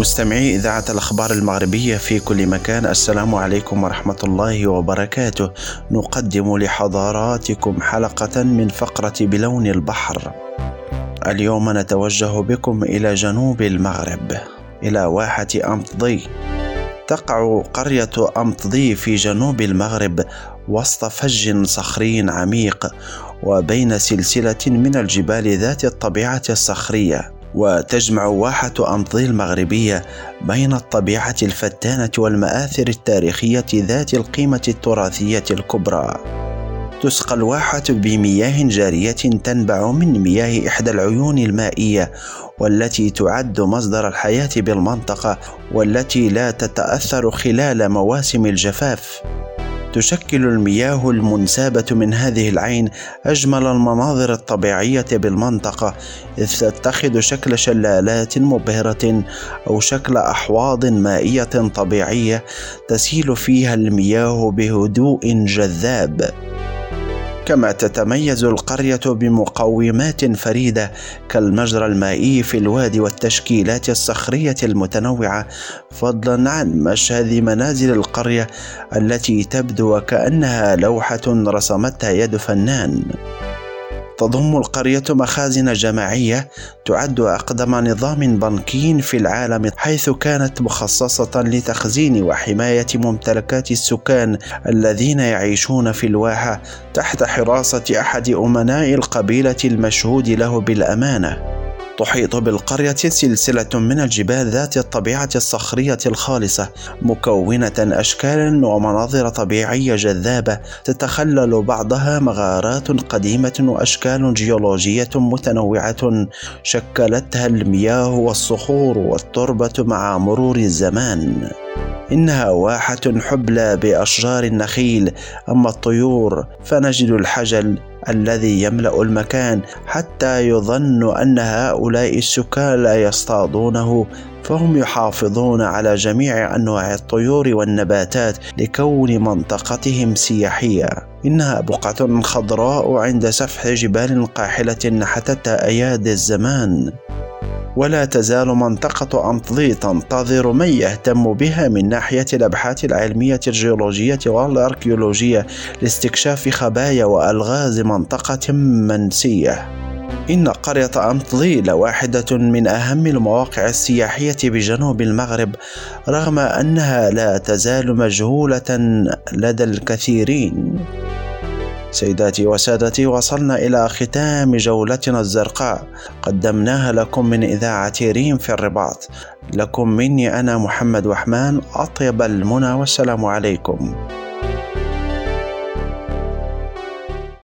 مستمعي إذاعة الأخبار المغربية في كل مكان، السلام عليكم ورحمة الله وبركاته. نقدم لحضراتكم حلقة من فقرة بلون البحر. اليوم نتوجه بكم إلى جنوب المغرب، إلى واحة أمطضي. تقع قرية أمطضي في جنوب المغرب وسط فج صخري عميق وبين سلسلة من الجبال ذات الطبيعة الصخرية، وتجمع واحة أمطضي المغربية بين الطبيعة الفتانة والمآثر التاريخية ذات القيمة التراثية الكبرى. تسقى الواحة بمياه جارية تنبع من مياه إحدى العيون المائية والتي تعد مصدر الحياة بالمنطقة، والتي لا تتأثر خلال مواسم الجفاف. تشكل المياه المنسابة من هذه العين أجمل المناظر الطبيعية بالمنطقة، إذ تتخذ شكل شلالات مبهرة أو شكل أحواض مائية طبيعية تسيل فيها المياه بهدوء جذاب. كما تتميز القرية بمقومات فريدة كالمجرى المائي في الوادي والتشكيلات الصخرية المتنوعة، فضلا عن مشهد منازل القرية التي تبدو وكأنها لوحة رسمتها يد فنان. تضم القرية مخازن جماعية تعد أقدم نظام بنكي في العالم، حيث كانت مخصصة لتخزين وحماية ممتلكات السكان الذين يعيشون في الواحة تحت حراسة أحد أمناء القبيلة المشهود له بالأمانة. تحيط بالقرية سلسلة من الجبال ذات الطبيعة الصخرية الخالصة، مكونة أشكالا ومناظر طبيعية جذابة تتخلل بعضها مغارات قديمة وأشكال جيولوجية متنوعة شكلتها المياه والصخور والتربة مع مرور الزمان. إنها واحة حبلى بأشجار النخيل، أما الطيور فنجد الحجل الذي يملأ المكان حتى يظن أن هؤلاء السكان لا يصطادونه، فهم يحافظون على جميع أنواع الطيور والنباتات لكون منطقتهم سياحية. إنها بقعة خضراء عند سفح جبال قاحلة حتتها أيادي الزمان. ولا تزال منطقة أمطضي تنتظر من يهتم بها من ناحية الأبحاث العلمية الجيولوجية والأركيولوجية لاستكشاف خبايا وألغاز منطقة منسية. إن قرية أمطضي لواحدة من أهم المواقع السياحية بجنوب المغرب، رغم أنها لا تزال مجهولة لدى الكثيرين. سيداتي وسادتي، وصلنا إلى ختام جولتنا الزرقاء، قدمناها لكم من إذاعة ريم في الرباط. لكم مني أنا محمد وحمان أطيب المنى، والسلام عليكم.